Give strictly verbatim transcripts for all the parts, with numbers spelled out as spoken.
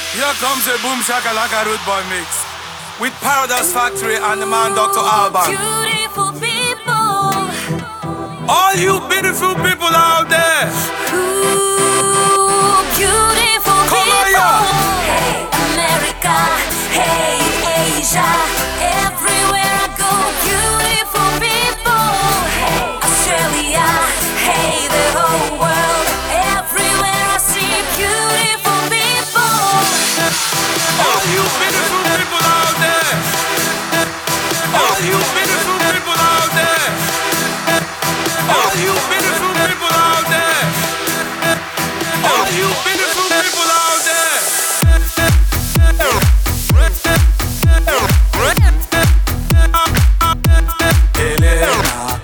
Here comes a boom shakalaka root boy mix with Paradise Factory and the man Doctor Alban. Beautiful people, all you beautiful people out there. ooh, beautiful Come on, people. yeah. Hey America, hey Asia, everywhere I go, beautiful people. Hey Australia, hey the whole world, everywhere I see beautiful people. All you beautiful people out there. All you beautiful people out there. All you beautiful people out there. All you beautiful people out there. Elena.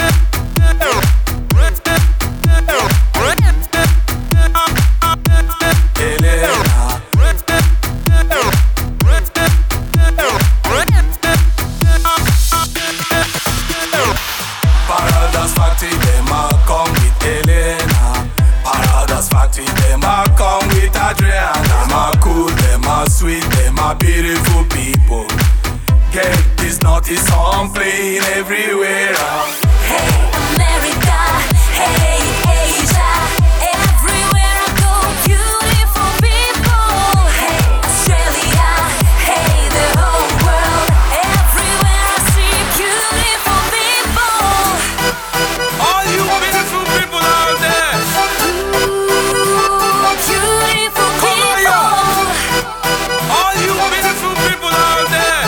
Paradise Factory, them a come with Elena. Paradise Factory, them a come with Adriana. Them a cool, them a sweet, them a beautiful people. Get this naughty song playing everywhere. Hey America, hey Asia, everywhere I go, beautiful people. Hey Australia, hey the whole world, everywhere I see beautiful people. All you beautiful people out there. Ooh, beautiful Come on, people. yeah. All you beautiful people out there.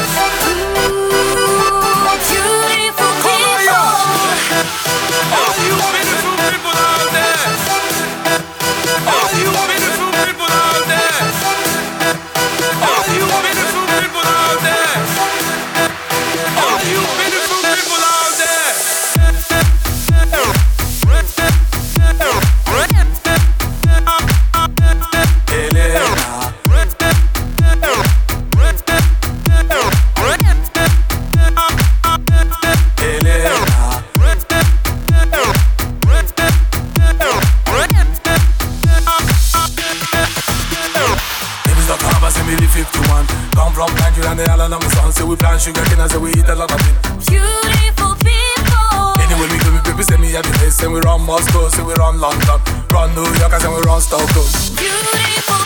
Ooh, beautiful Come on, people. yeah. All you beautiful people out there. All you beautiful people out there. All you beautiful people out there. All you beautiful people out there. Elena. Elena. Niggas don't come back, say me the fifty-one. Come from Nigeria and the island of my son. Say we plant sugar cane and say we eat a lot of it. Beautiful people. Anyway, we go, we people say me at the place. Say we run Moscow, say we run London. Run New York and say we run Stockholm. Beautiful